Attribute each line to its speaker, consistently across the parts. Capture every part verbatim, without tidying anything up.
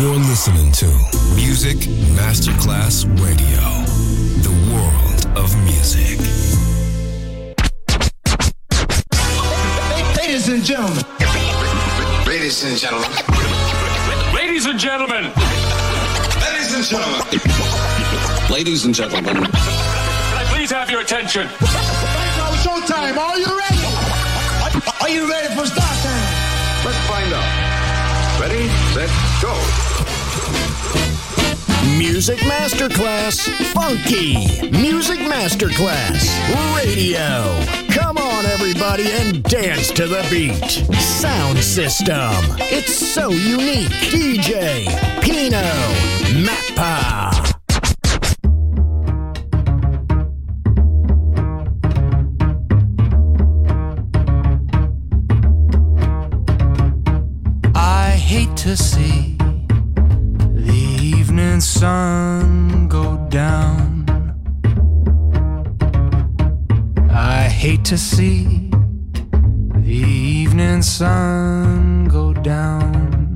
Speaker 1: You're listening to Music Masterclass Radio, the world of music.
Speaker 2: Ladies and gentlemen.
Speaker 3: Ladies and gentlemen.
Speaker 4: Ladies and gentlemen.
Speaker 3: Ladies and gentlemen. Ladies and gentlemen.
Speaker 4: Can I please have your attention?
Speaker 2: Now it's showtime. Are you ready? Are you ready for start time?
Speaker 3: Let's find out. Ready, set, go.
Speaker 5: Music Masterclass Funky. Music Masterclass Radio. Come on, everybody, and dance to the beat. Sound system. It's so unique. D J Pino Mappa.
Speaker 6: I hate to see the evening sun go down. I hate to see the evening sun go down.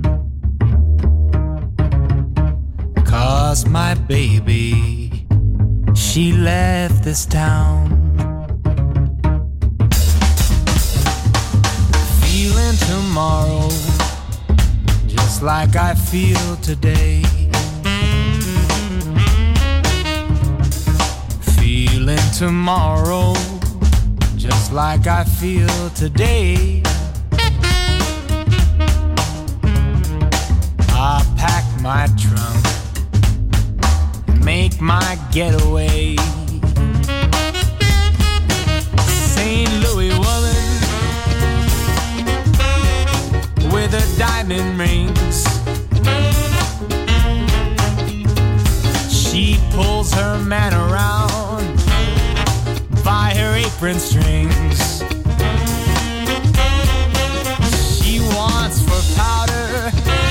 Speaker 6: 'Cause my baby, she left this town. Feeling tomorrow just like I feel today. Feeling tomorrow just like I feel today. I pack my trunk and make my getaway. Saint Louis woman with her diamond rings, she pulls her man around by her apron strings. She wants for powder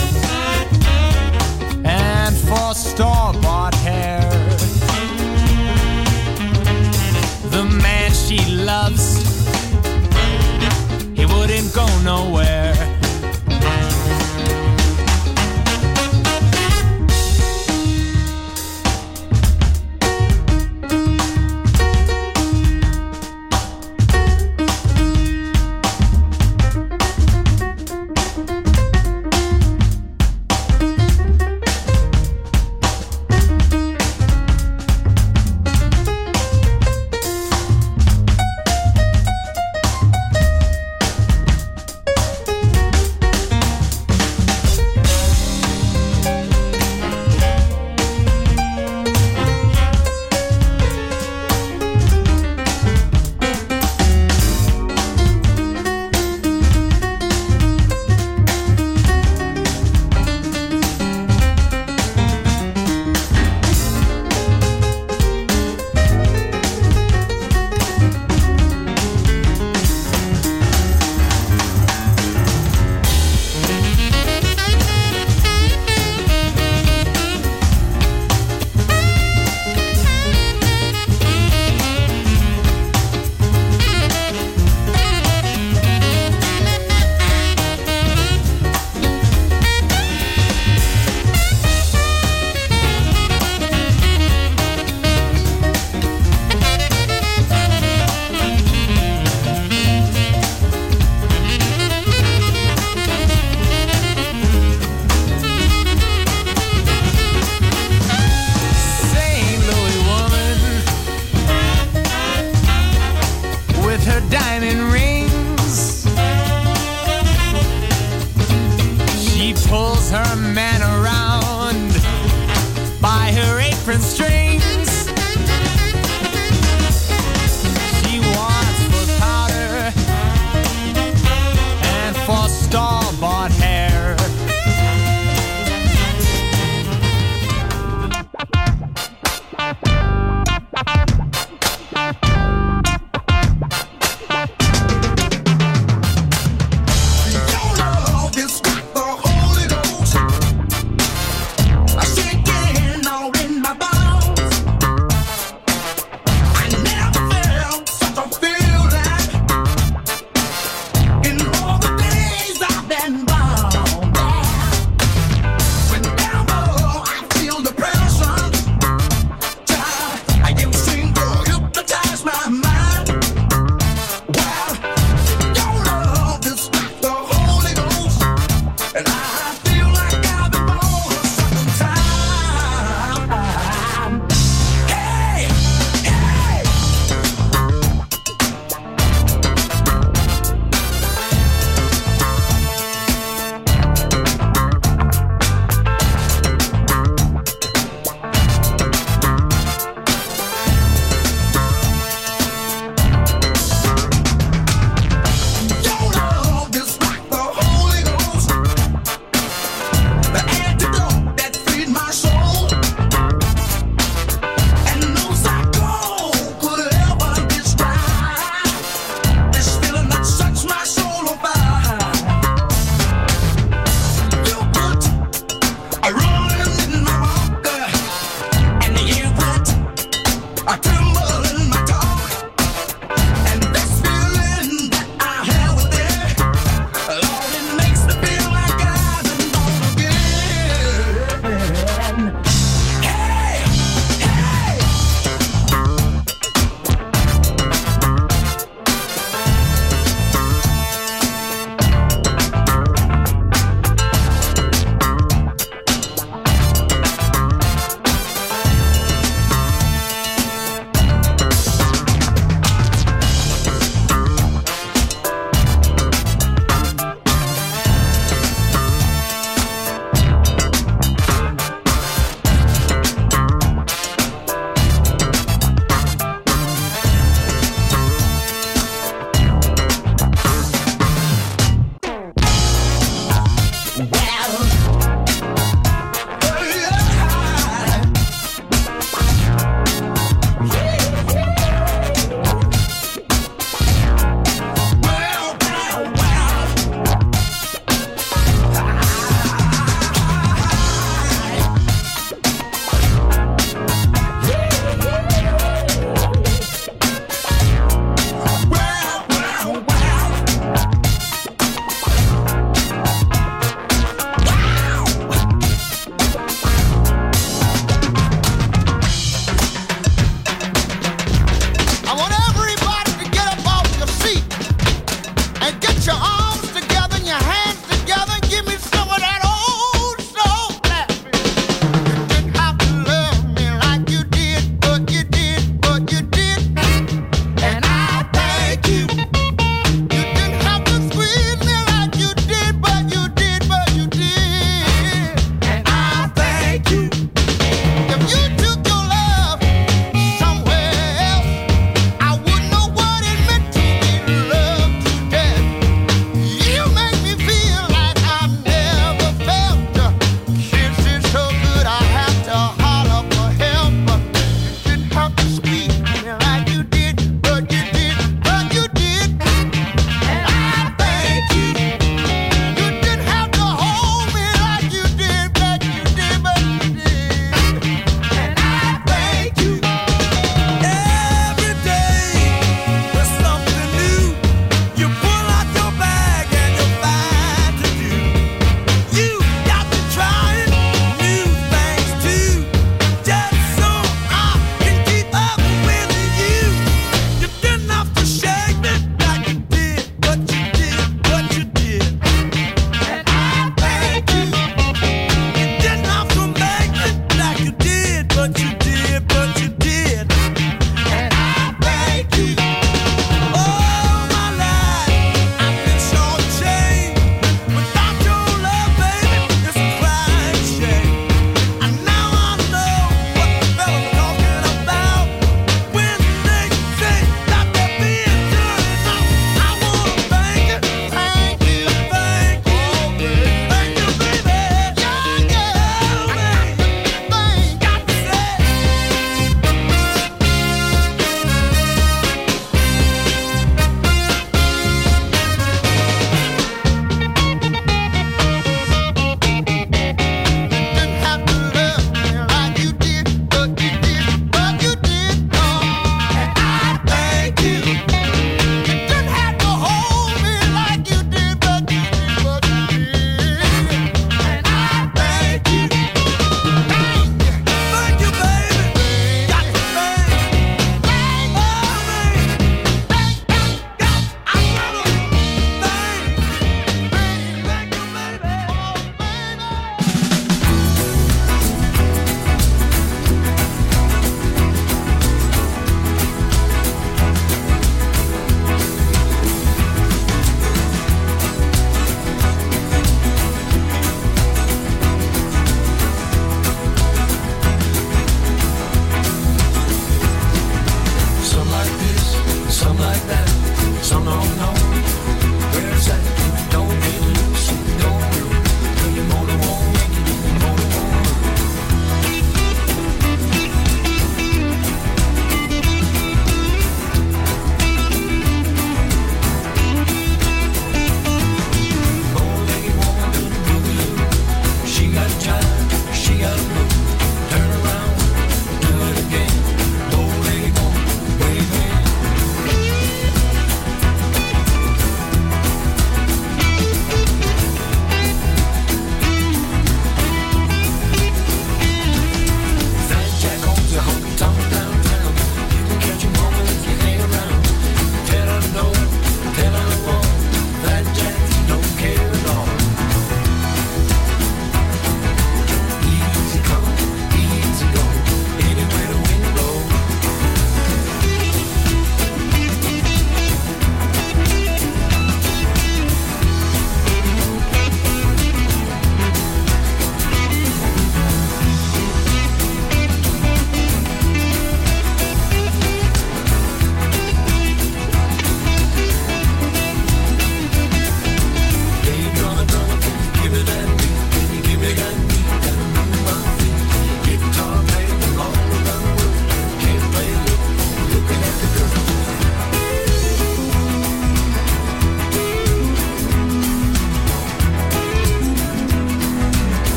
Speaker 6: and for store-bought hair. The man she loves, he wouldn't go nowhere.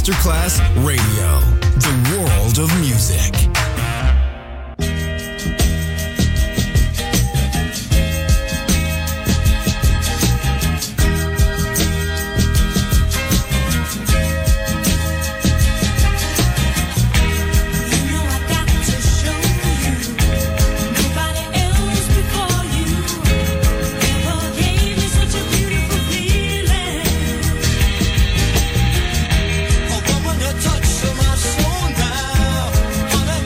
Speaker 1: Masterclass Radio, the world of music.
Speaker 7: Touch of my soul now.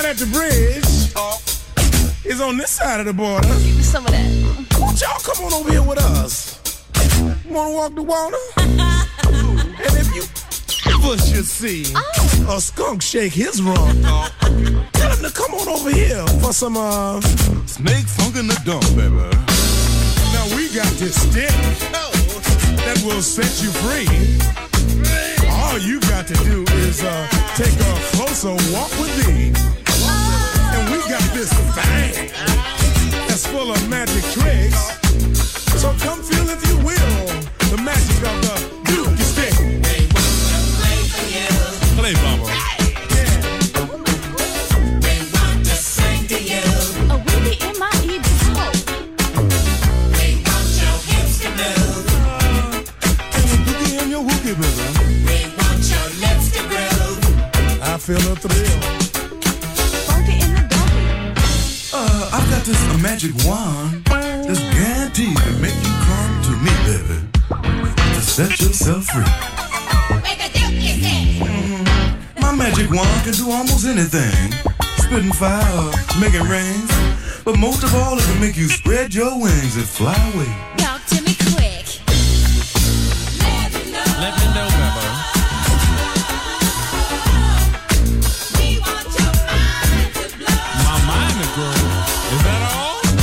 Speaker 7: at the bridge is on this side of the border.
Speaker 8: Give me some of that.
Speaker 7: Won't y'all come on over here with us? You wanna walk the water? And if you ever should see oh. a skunk shake his rump, tell him to come on over here for some uh, snake funk in the dump, baby. Now we got this stick that will set you free. All you got to do is uh, take a closer walk with me. And we got this thing that's full of magic tricks. So come feel, if you will, the magic of the Dookie stick. They want to play for you. Play, Bubba. Yeah. They want to sing to you.
Speaker 8: A weenie in my ear before.
Speaker 7: They want your hips to move. Uh, and the dookie and your wookie, baby. They want your lips to groove. I feel a thrill.
Speaker 8: Funky in the doggy.
Speaker 9: Uh, I've got this uh, magic wand that's guaranteed to make you come to me, baby, to set yourself free. Mm-hmm. My magic wand can do almost anything, spitting fire, making rain, but most of all, it can make you spread your wings and fly away.
Speaker 8: Talk to me quick. Let me know.
Speaker 6: Let me know, Bubba.
Speaker 8: We want your mind to blow.
Speaker 6: My mind to grow. Is that all?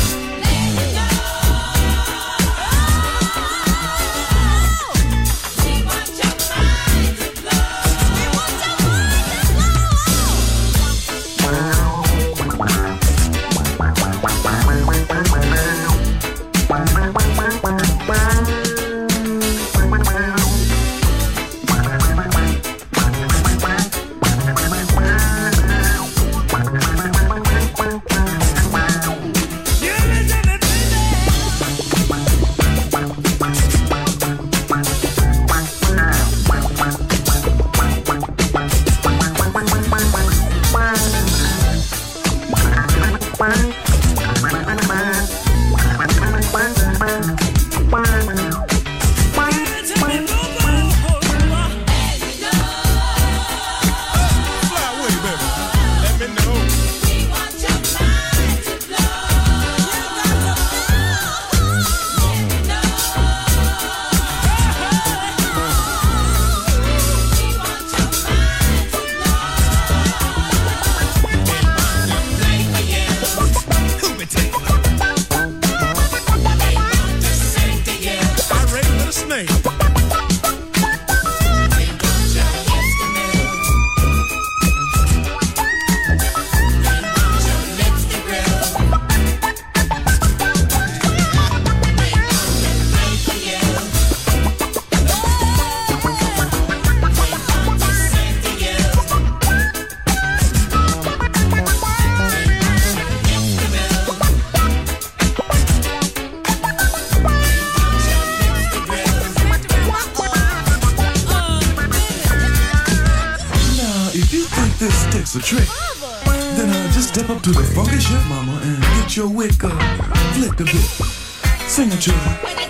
Speaker 9: A trick. Then uh, just step up to the funky shit, mama, and get your wick up, flick a bit, sing a tune.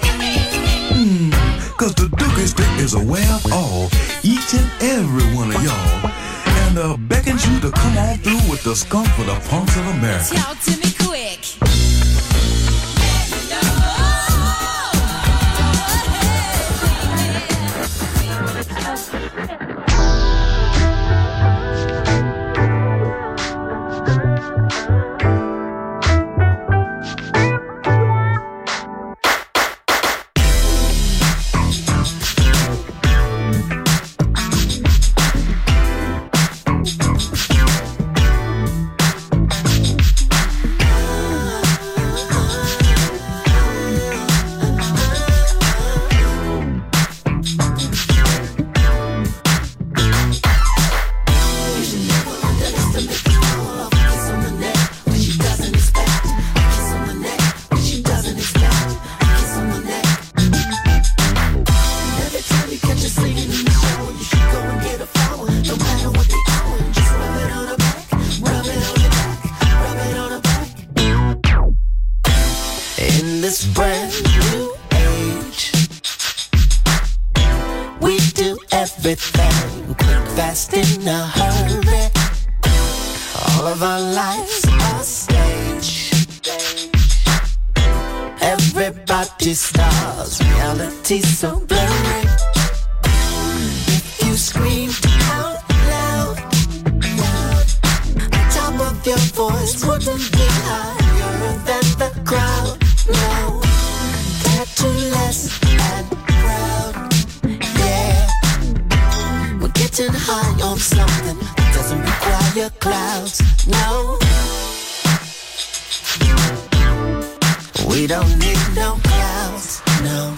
Speaker 9: Mmm, cause the Dookie stick is aware of all, each and every one of y'all, and uh, beckons you to come on through with the skunk for the punks of America.
Speaker 8: Talk to me quick.
Speaker 10: this brand new age. We do everything quick, fast, in a hurry. All of our lives a stage. Everybody stars, reality's so blurry. If you scream out loud, the top of your voice wouldn't be higher than the crowd. No, tattoo-less and proud. Yeah, we're getting high on something that doesn't require clouds. No, we don't need no clouds. No.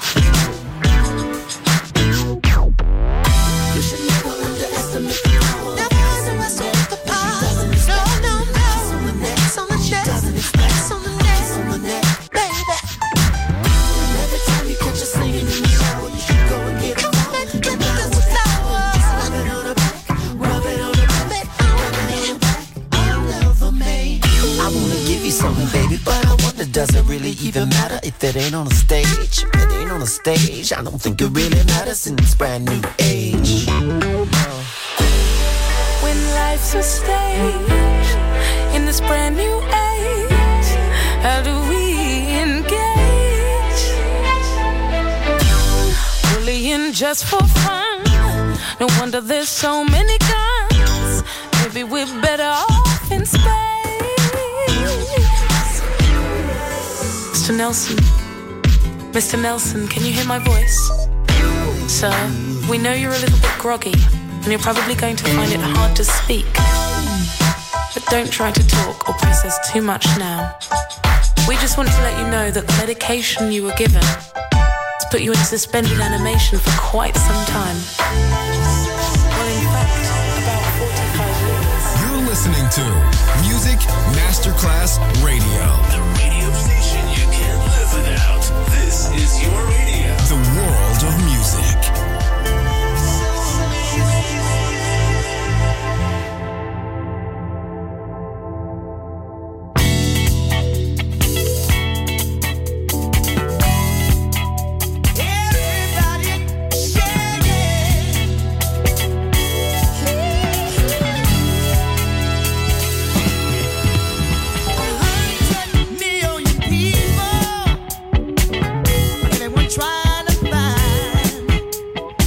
Speaker 10: You should never underestimate the power. Never underestimate the power. No, no, no. Kiss on the neck, kiss on the chest, kiss on the neck, kiss on the neck, baby. Every time you catch her singing in the shower, you should go and get a flower. Get the flower. Just rub it on her back, rub it on her back, rub it on her back. All over me. I wanna give you something, baby, but I wonder, does it really even matter if it ain't on a stage? If it ain't on a stage, I don't think it really matters in this brand new age.
Speaker 11: When life's a stage, in this brand new age, how do we engage? Bullying just for fun, no wonder there's so many guns. Maybe we're better off in space. Mister Nelson, Mister Nelson, can you hear my voice? Sir, we know you're a little bit groggy, and you're probably going to find it hard to speak. But don't try to talk or process too much now. We just wanted to let you know that the medication you were given has put you in suspended animation for quite some time. Well, in fact, about forty-five years.
Speaker 1: You're listening to Music Masterclass Radio.
Speaker 12: The radio station you can't live without. This is your radio.
Speaker 1: The world of music.
Speaker 10: Trying to find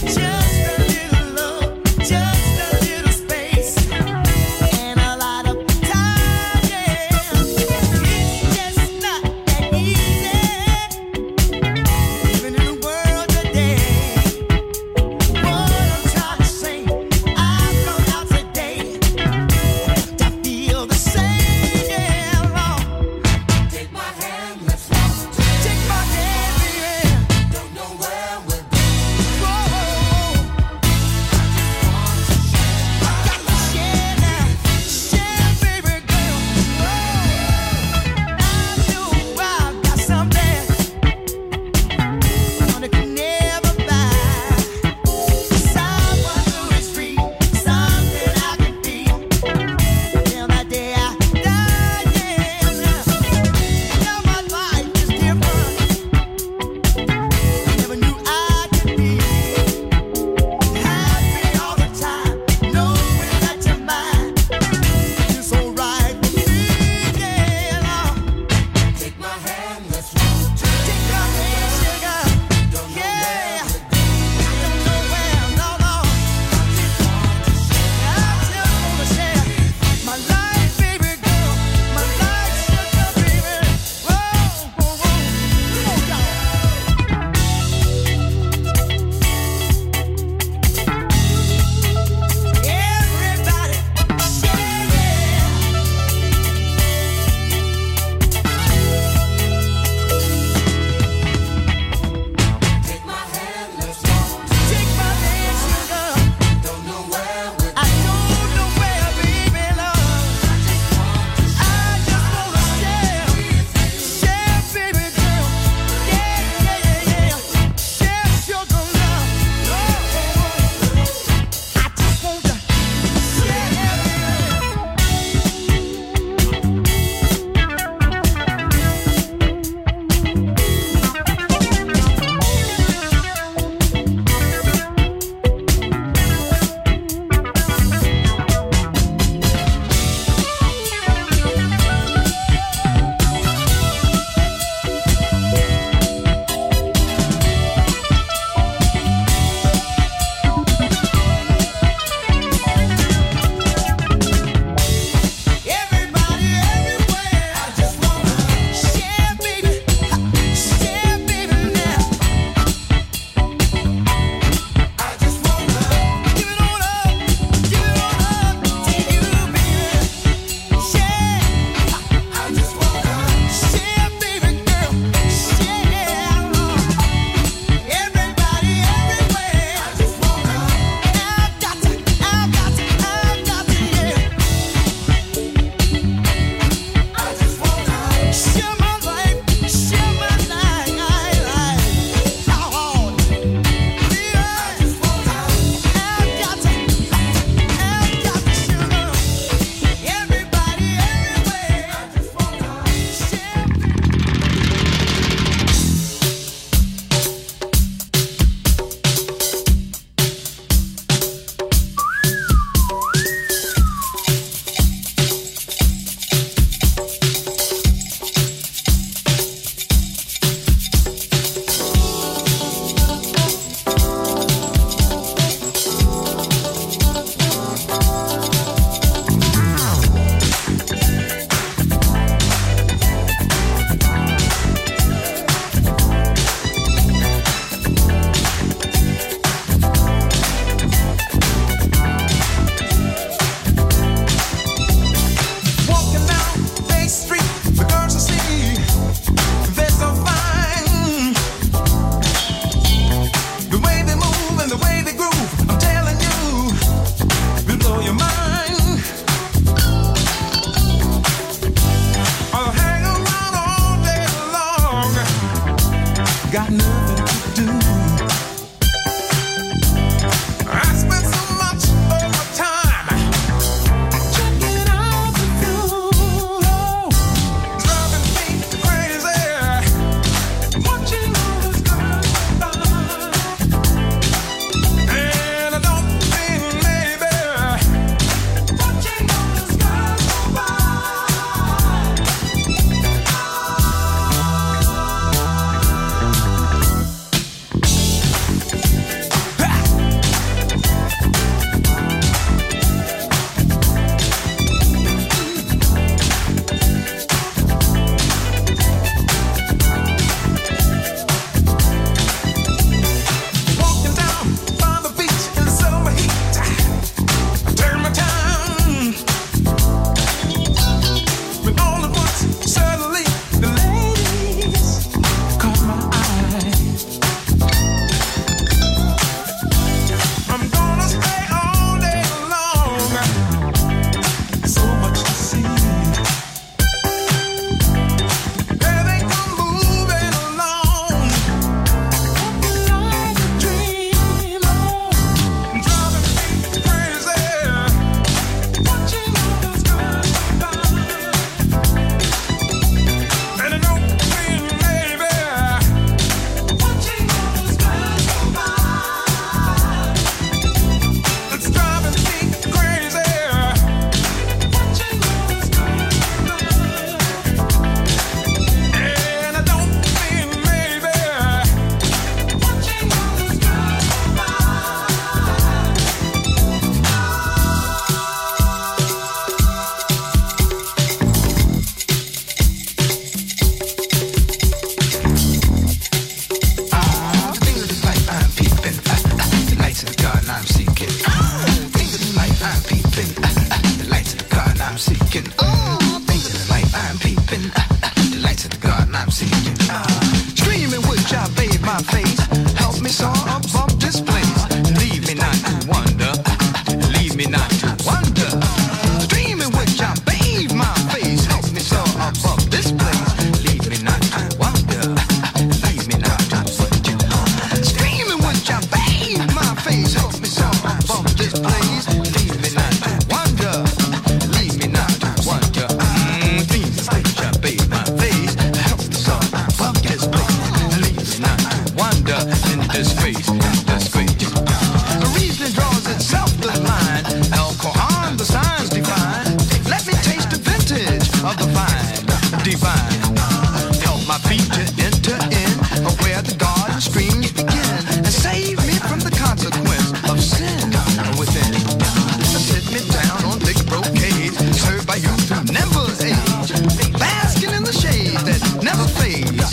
Speaker 13: seeking. Oh, things in the light I'm peeping. Uh, uh, the lights of the garden I'm seeking. Uh, streaming which I bathe my face. Help me soar above this place. Leave me not to wonder. Leave me not to wonder. Streaming which I bathe my face. Help me soar above this place. Leave me not to wonder. Leave me not to wonder. Streaming which I bathe my face. Help me soar above this place. Leave me not to wonder. Leave me not to wonder. Mm, things which I bathe my face. Help me soar above this place. Leave me not to wonder. In disgrace, in disgrace. The reason draws itself the line. Alcohol, the signs divine. Let me taste the vintage of the vine, divine. Help my feet to enter in where the garden streams begin, and save me from the consequence of sin within. Sit me down on thick brocade, served by youth who never age, basking in the shade that never fades.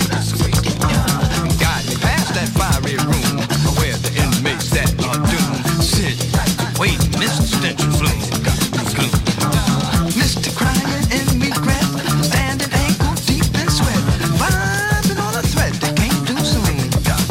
Speaker 13: Guide me past that fiery room where the inmates that are doomed sit, wait, Mister Stench and Flume, gloom. Mister Crying in regret, standing ankle deep in sweat, vibing on a thread that came too soon.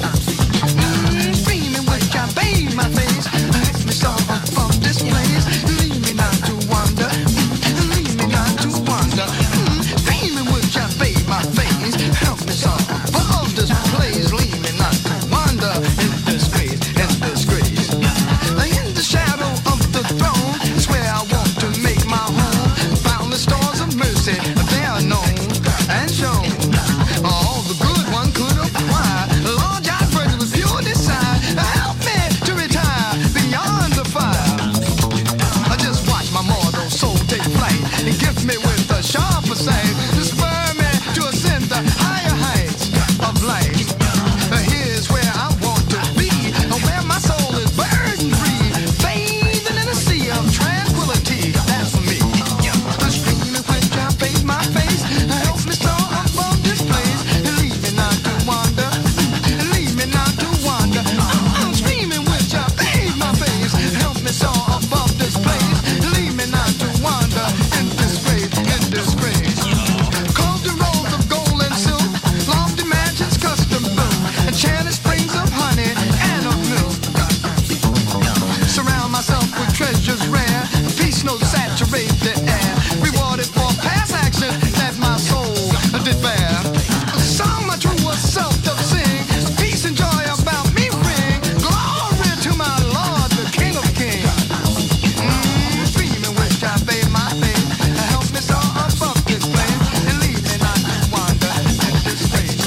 Speaker 13: Mm, screaming which I bathe my face, hurt me so above this place. Leave me not to wonder, mm, leave me not to wonder. Mm, screaming which I bathe my face, help me so above this place. Leave me not to wonder, in disgrace, in disgrace. In the shadow of the throne is where I want to make my home. Boundless stores of mercy, they are known and shown. All the good one could acquire. Lord, I pray with pure desire. Help me to retire beyond the fire. I just watch my mortal soul take flight and gift me with a sharper sight to spur me to ascend the higher heights of life. Here's where I want to be, where my soul is burden free, bathing in a sea of tranquility. That's for me. The streaming which I bathe my face, help me soar above this place. Leave me not to wander, leave me not to wander. I'm screaming which I bathe my face, help me soar above this place. Leave me not to wander in disgrace, in disgrace. Called the rolls of gold and silk, lofty mansions custom built, enchanted springs of honey and of milk. Surround myself with treasures rare, peace notes saturate the air, rewarded for past action that my soul did bear. Song my truest self doth sing, peace and joy about me ring, glory to my Lord, the King of Kings. Mm, dreaming which I bathe my face, help me soar above this place, and leave me not to wander in disgrace.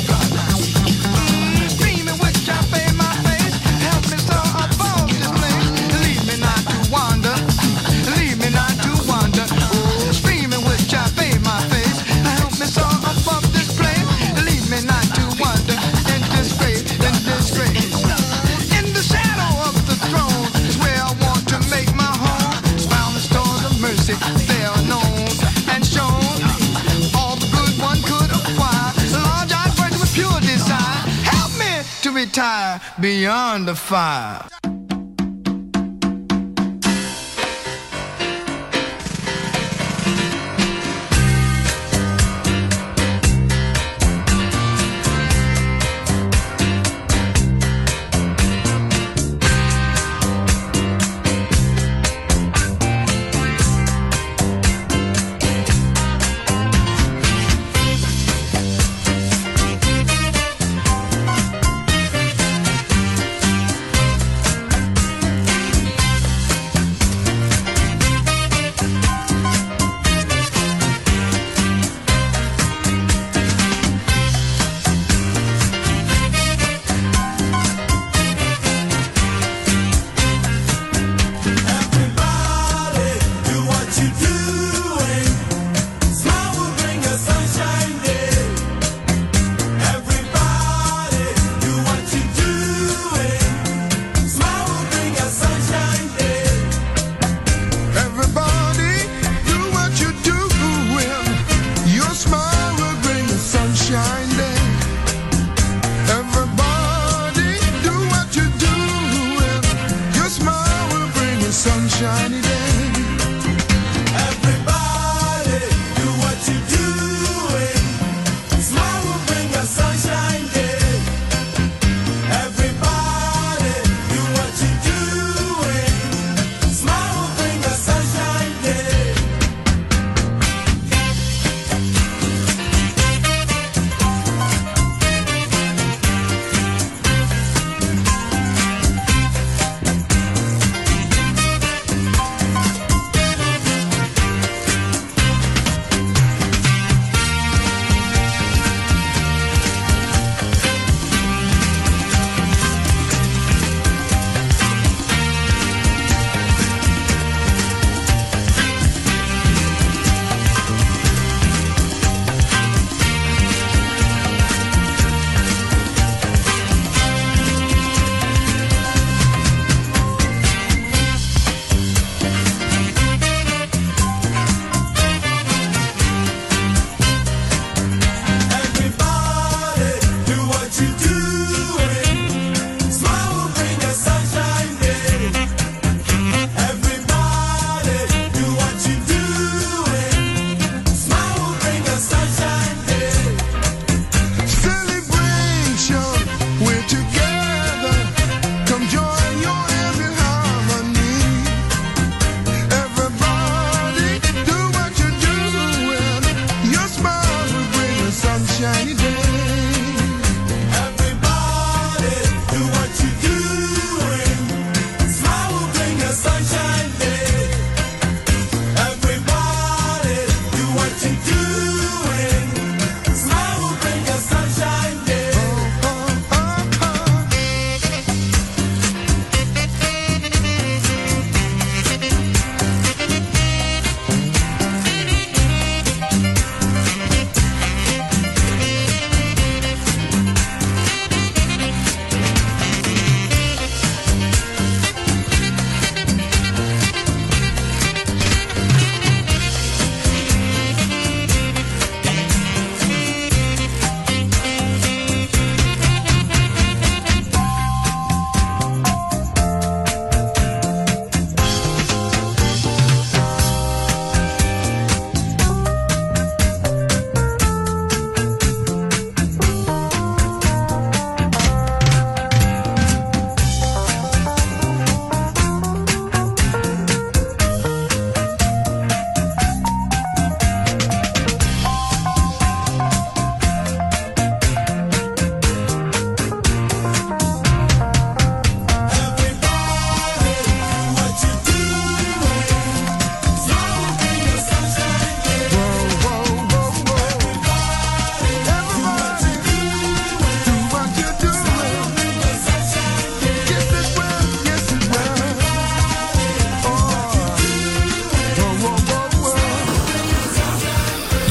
Speaker 13: Mm, dreaming which I bathe my face, help me soar above this place, leave me not to wander, leave me not to wander. Oh, screaming which I bathe my face, help me soar above this place, leave me not to wander in disgrace, in disgrace. In the shadow of the throne is where I want to make my home. Found the stores of mercy, they are known and shown. All the good one could acquire. Lord, I pray with pure desire. Help me to retire beyond the fire.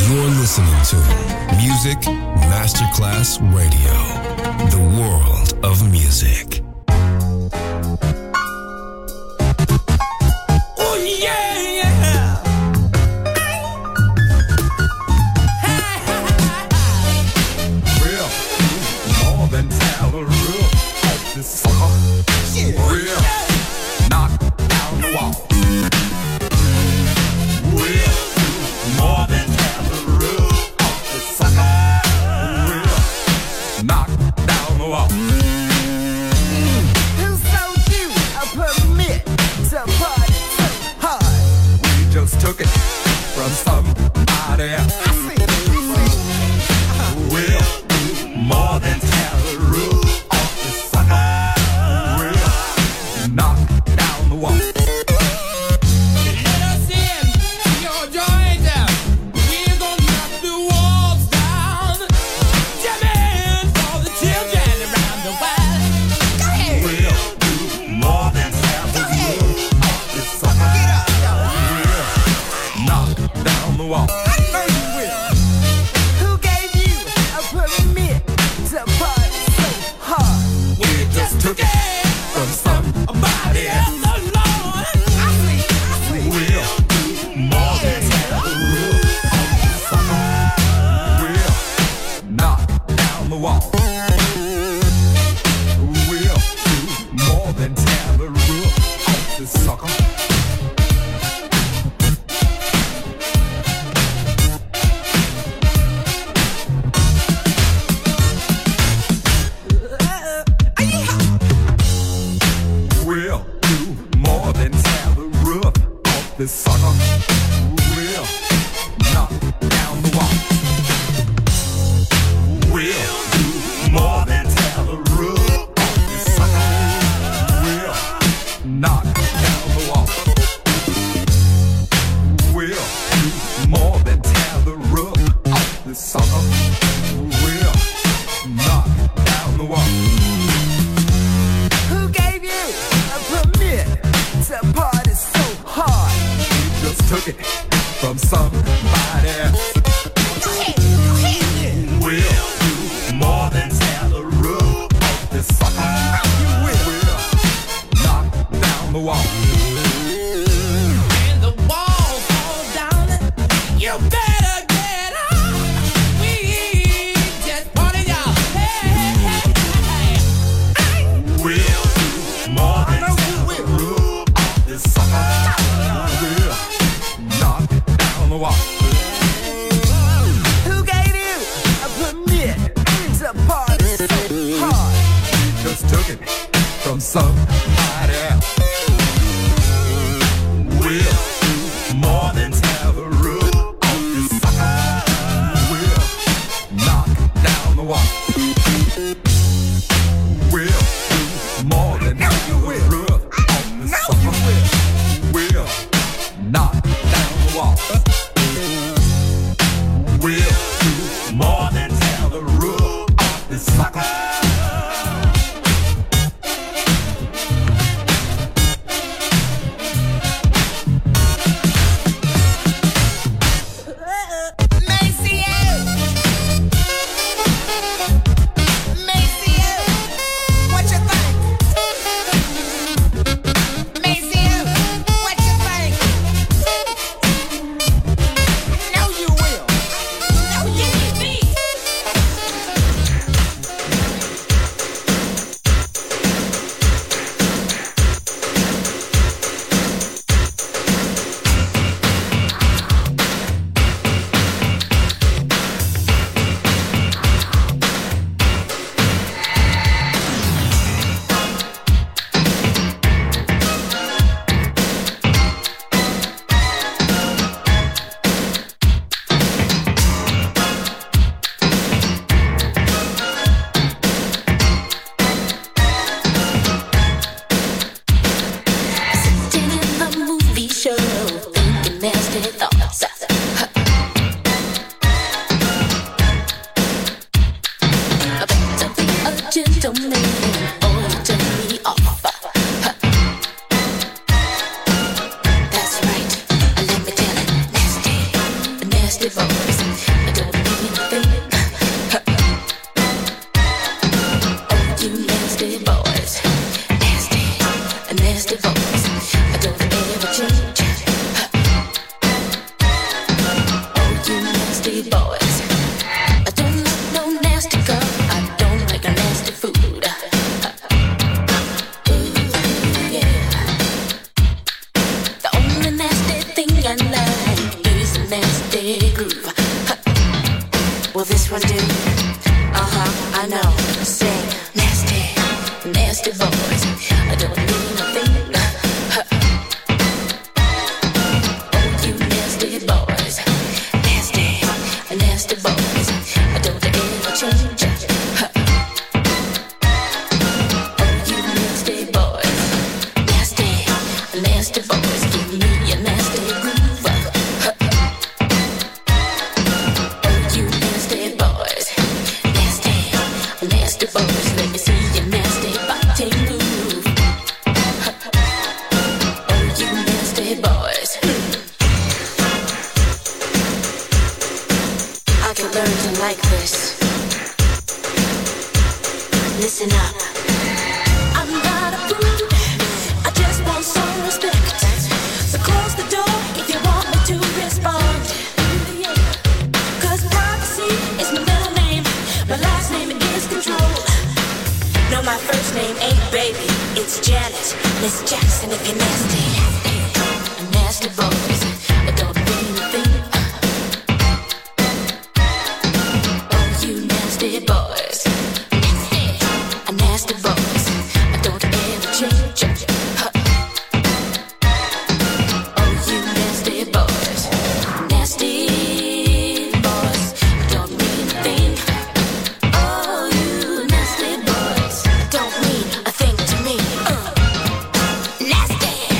Speaker 1: You're listening to Music Masterclass Radio, the world of music.
Speaker 14: Oh yeah, yeah.
Speaker 9: Real, more than Tallaroot. This sucker, real, knock down the wall. Real, more than Tallaroot. This sucker, real, knock down the wall.
Speaker 10: Who sold you a permit to party so hard?
Speaker 9: We just took it from somebody else.
Speaker 10: I see, I see.
Speaker 9: Real, more than Tallaroot. This sucker, real, knock down the wall.
Speaker 14: Let us in your joint. We're gonna knock the walls down. Jamming for the children around the world. Go ahead.
Speaker 9: Real, more than Tallaroot. This sucker, real, knock down the wall.
Speaker 10: I know you will. Who gave you a permit to party so hard?
Speaker 9: We just took it from somebody else.
Speaker 14: Yes, the Lord.
Speaker 10: I see, I see.
Speaker 9: Real, more than Tallaroot. This sucker, real, knock down the wall. Real, more than Tallaroot. This sucker. Real, more than Tallaroot. This sucker, real, knock down the wall. Real, more than Tallaroot. This sucker, real, knock down the wall. Real, more than Tallaroot. This sucker, real, knock down the wall.
Speaker 10: Who gave you a permit to party so hard?
Speaker 9: Just took it from somebody else.
Speaker 10: Go ahead, go ahead.
Speaker 9: Real, more than Tallaroot. This sucker, you will knock down the wall.
Speaker 14: When the walls fall down, you better get up. We just party, y'all. Hey, hey, hey.
Speaker 9: Real, more than Tallaroot. This sucker, will knock down the wall.
Speaker 10: Who gave you a permit to party so hard?
Speaker 9: Just took it from somebody else. Real, more than Tallaroot. This sucker, will knock down the wall. Real, more than Tallaroot. This sucker, will knock down the wall. Real, more than Tallaroot. This sucker.
Speaker 11: nasty boys. I don't mean a thing. Oh, you nasty boys, nasty, nasty boys. I don't ever change. Oh, you nasty boys. I don't like no nasty girl. I don't like a nasty food. I like is a nasty groove. Will this one do? Uh-huh, I know. Say nasty, nasty boys. I don't mean a thing. Oh, you nasty boys. Nasty, nasty boys. I don't ever change. Oh, you nasty boys. Nasty, nasty boys. Give me a nasty groove. Nasty boys, let me see your nasty body move. Oh, you nasty boys. I can learn to like this. Listen up. I'm not a prude. I just want some respect. So close the door if you want me to respond. Cause privacy is my middle name. My last name is Control. No, my first name ain't baby, it's Janet. Miss Jackson if you're nasty. Nasty boys, I don't mean a thing. Oh, you nasty boys. Nasty, nasty boys, I don't ever change. Oh, you nasty boys. Nasty boys, I don't mean a thing. Oh, you nasty boys don't mean a thing to me. Uh. Nasty.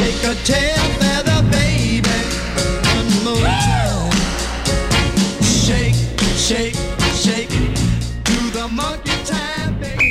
Speaker 15: Shake a tail feather, baby, one more time. Shake, shake, shake, do the monkey time, baby.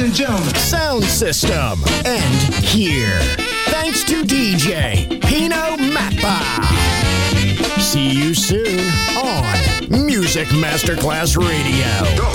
Speaker 2: and gentlemen.
Speaker 5: Sound system. And here. Thanks to D J Pino Mappa. See you soon on Music Masterclass Radio.